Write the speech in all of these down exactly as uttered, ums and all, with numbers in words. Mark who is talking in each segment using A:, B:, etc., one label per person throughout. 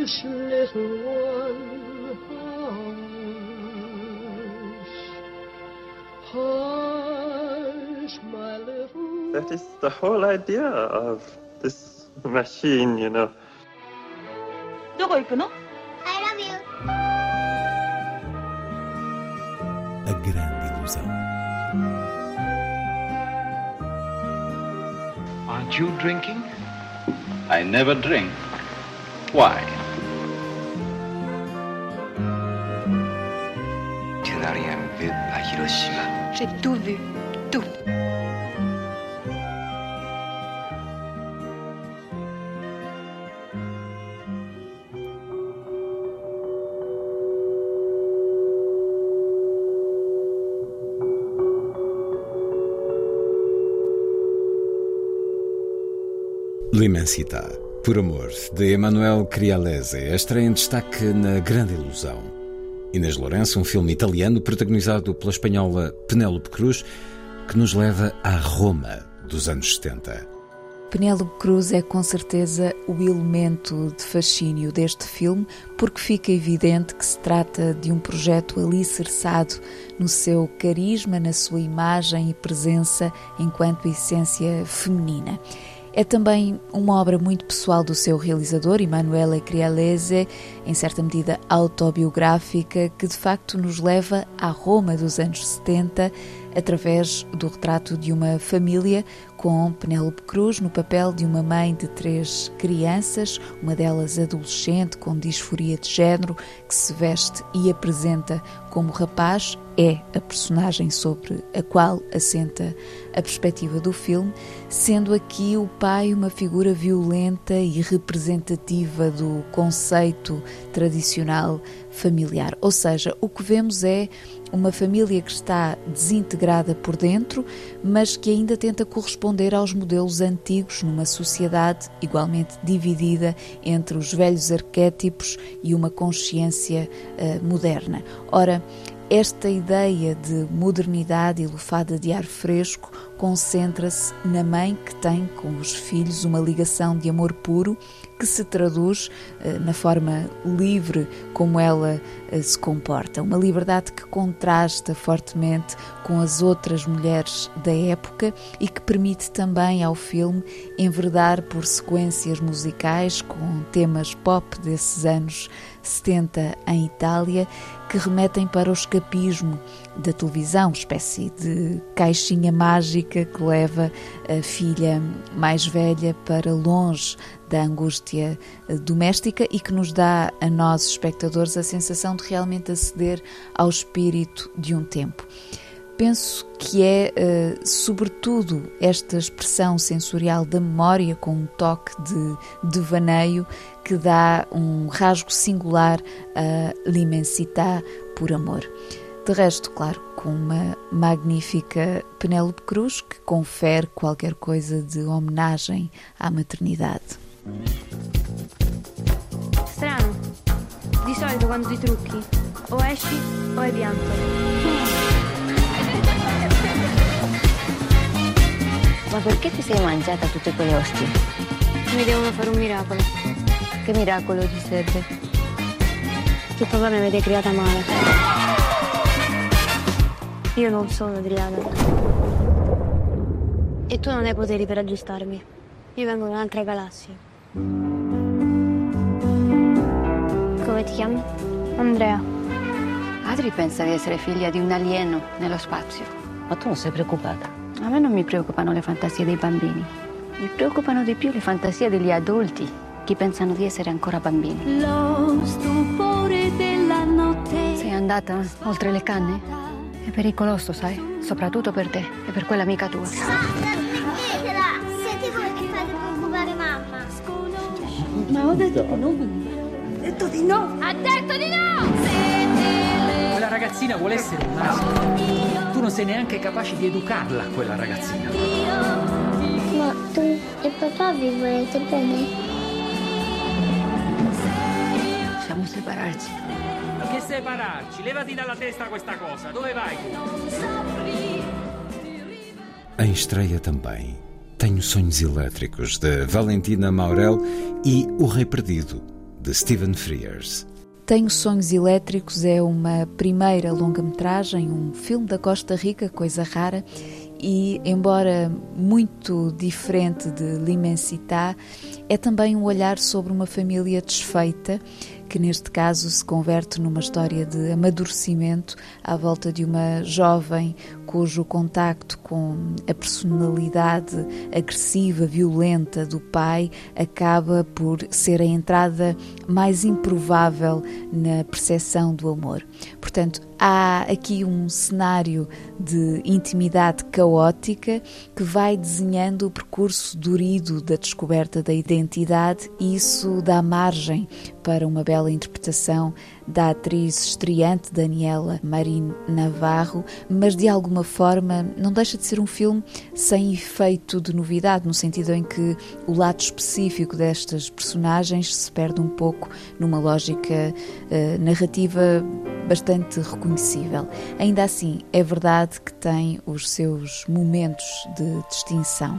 A: Hush, little one, hush, hush, my little...
B: That is the whole idea of this machine, you know.
C: どこ行くの?
D: I love you.
E: A grande ilusão.
F: Aren't you drinking? I never drink. Why?
G: Tu n'as rien vu à Hiroshima.
H: J'ai tout vu, tout.
E: L'Immensità, por amor, de Emanuele Crialese, a estreia em destaque na Grande Ilusão. Inês Lourenço, um filme italiano protagonizado pela espanhola Penélope Cruz, que nos leva à Roma dos anos setenta.
I: Penélope Cruz é com certeza o elemento de fascínio deste filme, porque fica evidente que se trata de um projeto alicerçado no seu carisma, na sua imagem e presença enquanto essência feminina. É também uma obra muito pessoal do seu realizador, Emanuele Crialese, em certa medida autobiográfica, que de facto nos leva à Roma dos anos setenta, através do retrato de uma família com Penélope Cruz no papel de uma mãe de três crianças, uma delas adolescente com disforia de género, que se veste e apresenta como rapaz. É a personagem sobre a qual assenta a perspectiva do filme, sendo aqui o pai uma figura violenta e representativa do conceito tradicional familiar. Ou seja, o que vemos é uma família que está desintegrada por dentro, mas que ainda tenta corresponder aos modelos antigos numa sociedade igualmente dividida entre os velhos arquétipos e uma consciência uh, moderna. Ora, esta ideia de modernidade e lufada de ar fresco concentra-se na mãe que tem com os filhos uma ligação de amor puro que se traduz eh, na forma livre como ela eh, se comporta. Uma liberdade que contrasta fortemente com as outras mulheres da época e que permite também ao filme enverdar por sequências musicais com temas pop desses anos setenta em Itália, que remetem para o escapismo da televisão, espécie de caixinha mágica que leva a filha mais velha para longe da angústia doméstica e que nos dá a nós, espectadores, a sensação de realmente aceder ao espírito de um tempo. Penso que é, uh, sobretudo, esta expressão sensorial da memória com um toque de devaneio que dá um rasgo singular a L'Immensità, por amor. De resto, claro, com uma magnífica Penélope Cruz que confere qualquer coisa de homenagem à maternidade.
J: Strano. Di solito quando ti trucchi o esci o hai pianto.
K: Ma perché ti sei mangiata tutte quelle ostie?
J: Mi devono fare un miracolo.
K: Che miracolo ti serve?
J: Che papà mi avete creata male. Io non sono Adriana. E tu non hai poteri per aggiustarmi. Io vengo da un'altra galassia. Come ti chiami? Andrea.
K: Adri pensa di essere figlia di un alieno nello spazio.
L: Ma tu non sei preoccupata?
K: A me non mi preoccupano le fantasie dei bambini. Mi preoccupano di più le fantasie degli adulti che pensano di essere ancora bambini.
M: Lo stupore della notte.
K: Sei andata oltre le canne? È pericoloso, sai? Soprattutto per te e per quell'amica tua.
D: Smettetela! Siete voi che fate preoccupare mamma.
L: Ma ho detto di no. Ho detto di no.
J: Ha detto di no!
N: Quella ragazzina vuole essere un maschio. Tu non sei neanche capace di educarla, quella ragazzina.
D: Ma tu e papà vi volete bene?
K: Possiamo separarci.
N: Che separarci? Levati dalla testa questa cosa. Dove vai tu?
E: Em estreia também Tenho Sonhos Elétricos, de Valentina Maurel, e O Rei Perdido, de Stephen Frears.
I: Tenho Sonhos Elétricos é uma primeira longa-metragem, um filme da Costa Rica, coisa rara, e, embora muito diferente de L'Immensità, é também um olhar sobre uma família desfeita, que neste caso se converte numa história de amadurecimento à volta de uma jovem cujo contacto com a personalidade agressiva, violenta do pai acaba por ser a entrada mais improvável na percepção do amor. Portanto, há aqui um cenário de intimidade caótica que vai desenhando o percurso dorido da descoberta da identidade, e isso dá margem para uma bela interpretação da atriz estreante Daniela Marín Navarro, mas de alguma forma não deixa de ser um filme sem efeito de novidade, no sentido em que o lado específico destas personagens se perde um pouco numa lógica uh, narrativa bastante reconhecível. Ainda assim, é verdade que tem os seus momentos de distinção.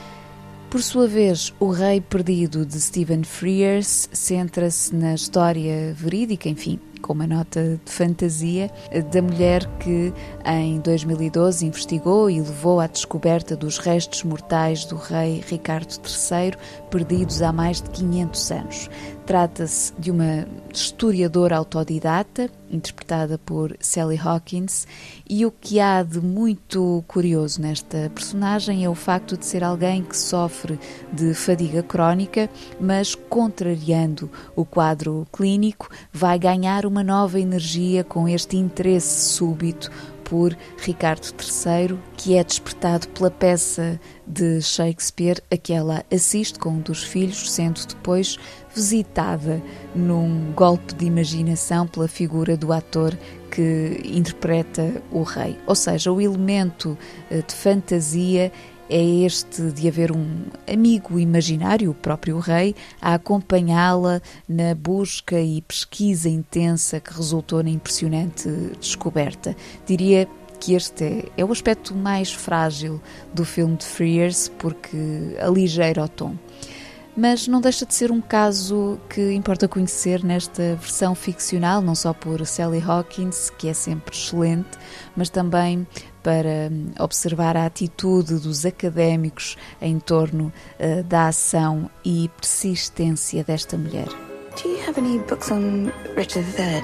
I: Por sua vez, O Rei Perdido, de Stephen Frears, centra-se na história verídica, enfim, com uma nota de fantasia, da mulher que em dois mil e doze investigou e levou à descoberta dos restos mortais do rei Ricardo terceiro, perdidos há mais de quinhentos anos. Trata-se de uma historiadora autodidata, interpretada por Sally Hawkins, e o que há de muito curioso nesta personagem é o facto de ser alguém que sofre de fadiga crónica, mas, contrariando o quadro clínico, vai ganhar uma nova energia com este interesse súbito por Ricardo terceiro, que é despertado pela peça de Shakespeare a que ela assiste com um dos filhos, sendo depois visitada num golpe de imaginação pela figura do ator que interpreta o rei. Ou seja, o elemento de fantasia é este de haver um amigo imaginário, o próprio rei, a acompanhá-la na busca e pesquisa intensa que resultou na impressionante descoberta. Diria que este é, é o aspecto mais frágil do filme de Frears, porque aligeira o tom. Mas não deixa de ser um caso que importa conhecer nesta versão ficcional, não só por Sally Hawkins, que é sempre excelente, mas também para observar a atitude dos académicos em torno uh, da ação e persistência desta mulher.
H: Do you have any books on Richard the Third?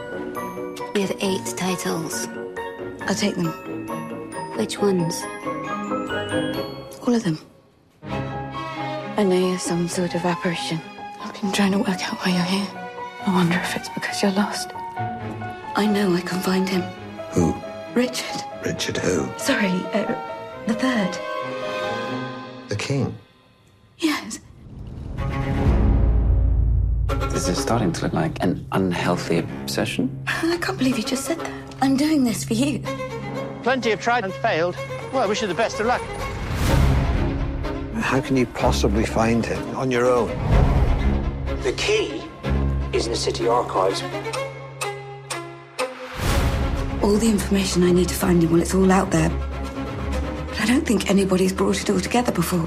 K: We have eight titles.
H: I'll take them.
K: Which ones?
H: All of them. I know you're some sort of apparition. I've been trying to work out why you're here. I wonder if it's because you're lost. I know I can find him.
G: Who?
H: Richard.
G: Richard who?
H: Sorry, uh, the third.
G: The king?
H: Yes.
O: This is starting to look like an unhealthy obsession.
H: I can't believe you just said that. I'm doing this for you.
P: Plenty have tried and failed. Well, I wish you the best of luck.
Q: How can you possibly find him on your own?
R: The key is in the city archives.
H: All the information I need to find him, well, it's all out there. But I don't think anybody's brought it all together before.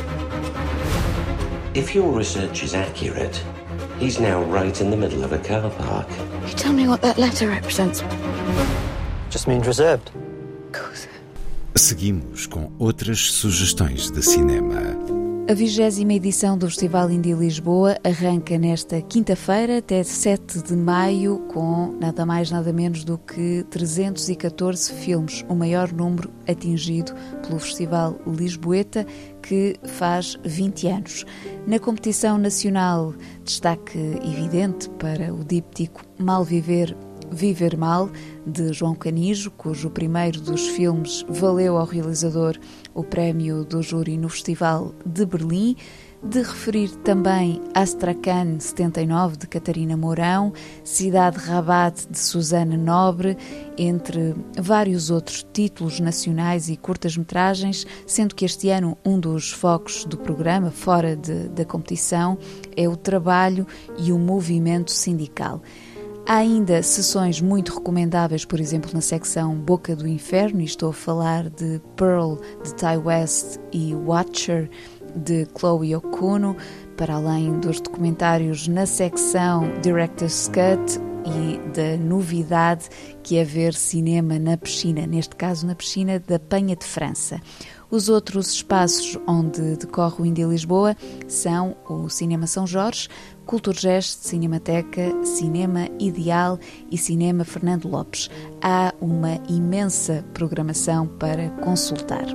R: If your research is accurate, he's now right in the middle of a car park.
H: You tell me what that letter represents.
P: Just means reserved.
E: Seguimos com outras sugestões de cinema.
I: A vigésima edição do Festival Indie Lisboa arranca nesta quinta-feira até sete de maio com nada mais nada menos do que trezentos e catorze filmes, o maior número atingido pelo Festival Lisboeta, que faz vinte anos. Na competição nacional, destaque evidente para o díptico Mal Viver, Viver Mal, de João Canijo, cujo primeiro dos filmes valeu ao realizador o prémio do júri no Festival de Berlim. De referir também Astrakhan setenta e nove, de Catarina Mourão, Cidade Rabat, de Susana Nobre, entre vários outros títulos nacionais e curtas-metragens, sendo que este ano um dos focos do programa, fora de, da competição, é o trabalho e o movimento sindical. Há ainda sessões muito recomendáveis, por exemplo, na secção Boca do Inferno, e estou a falar de Pearl, de Ty West, e Watcher, de Chloe Okuno, para além dos documentários na secção Director's Cut e da novidade que é ver cinema na piscina, neste caso na piscina da Penha de França. Os outros espaços onde decorre o Indie Lisboa são o Cinema São Jorge, Culturgest, Cinemateca, Cinema Ideal e Cinema Fernando Lopes. Há uma imensa programação para consultar.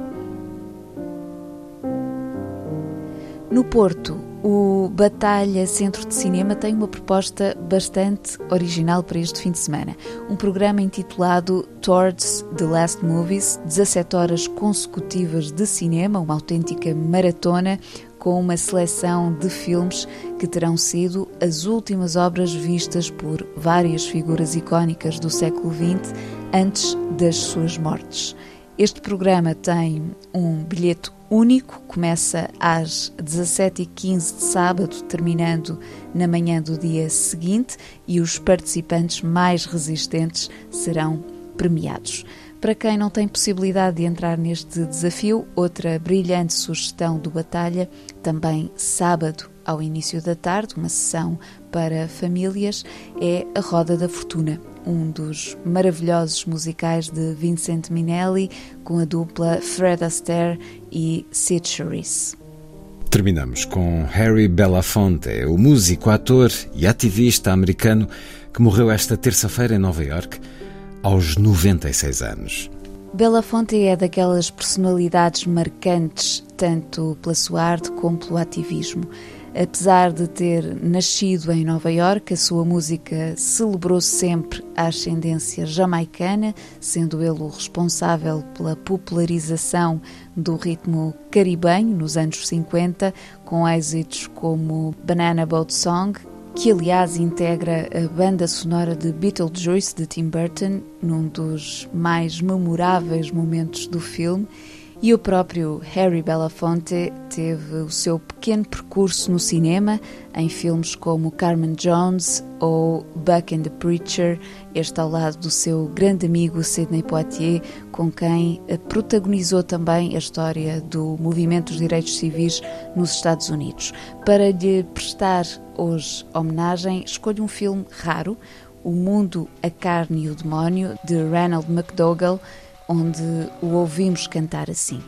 I: No Porto, o Batalha Centro de Cinema tem uma proposta bastante original para este fim de semana. Um programa intitulado Towards the Last Movies, dezassete horas consecutivas de cinema, uma autêntica maratona com uma seleção de filmes que terão sido as últimas obras vistas por várias figuras icónicas do século vinte antes das suas mortes. Este programa tem um bilhete único, começa às dezassete e quinze de sábado, terminando na manhã do dia seguinte, e os participantes mais resistentes serão premiados. Para quem não tem possibilidade de entrar neste desafio, outra brilhante sugestão do Batalha, também sábado ao início da tarde, uma sessão para famílias, é a Roda da Fortuna, um dos maravilhosos musicais de Vincent Minnelli, com a dupla Fred Astaire e Sid Charisse.
E: Terminamos com Harry Belafonte, o músico, ator e ativista americano que morreu esta terça-feira em Nova Iorque, aos noventa e seis anos.
I: Belafonte é daquelas personalidades marcantes, tanto pela sua arte como pelo ativismo. Apesar de ter nascido em Nova Iorque, a sua música celebrou sempre a ascendência jamaicana, sendo ele o responsável pela popularização do ritmo caribenho nos anos cinquenta, com êxitos como Banana Boat Song, que aliás integra a banda sonora de Beetlejuice de Tim Burton, num dos mais memoráveis momentos do filme. E o próprio Harry Belafonte teve o seu pequeno percurso no cinema, em filmes como Carmen Jones ou Buck and the Preacher, este ao lado do seu grande amigo Sidney Poitier, com quem protagonizou também a história do movimento dos direitos civis nos Estados Unidos. Para lhe prestar hoje homenagem, escolho um filme raro, O Mundo, a Carne e o Demónio, de Ronald McDougall, onde o ouvimos cantar assim.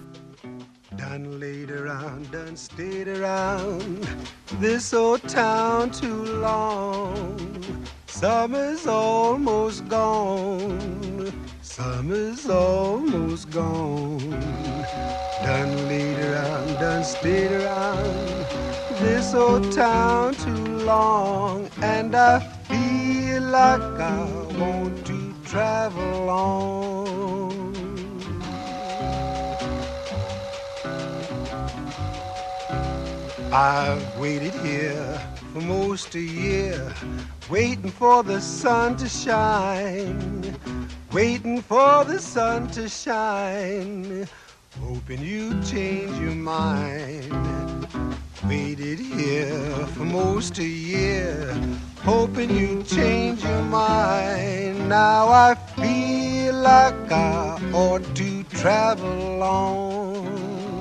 S: Done laid around, done stayed around this old town too long. Summer's almost gone, summer's almost gone. Done laid around, done stayed around this old town too long. And I feel like I want to travel on. I've waited here for most a year, waiting for the sun to shine, waiting for the sun to shine, hoping you'd change your mind. Waited here for most a year, hoping you'd change your mind. Now I feel like I ought to travel on.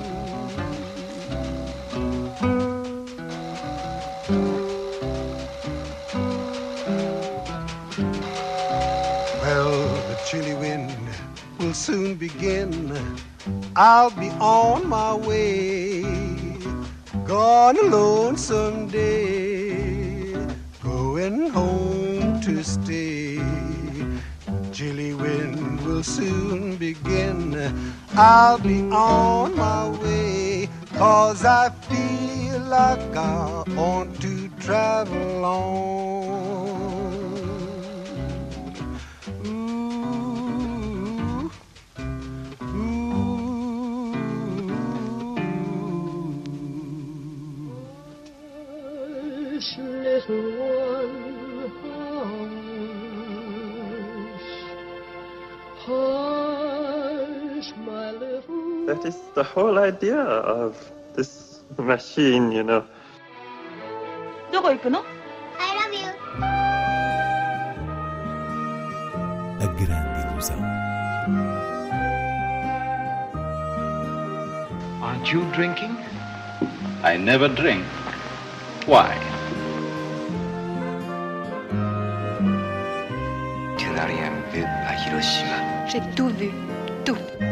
S: Chilly wind will soon begin. I'll be on my way, gone alone someday, going home to stay. Chilly wind will soon begin. I'll be on my way, 'cause I feel like I want to travel on.
A: Little one, hush, hush, my little.
B: That is the whole idea of this machine, you know.
C: どこ行くの?
D: I love you.
E: A grande ilusão.
F: Aren't you drinking? I never drink. Why?
T: Tu n'as rien vu à Hiroshima.
H: J'ai tout vu, tout.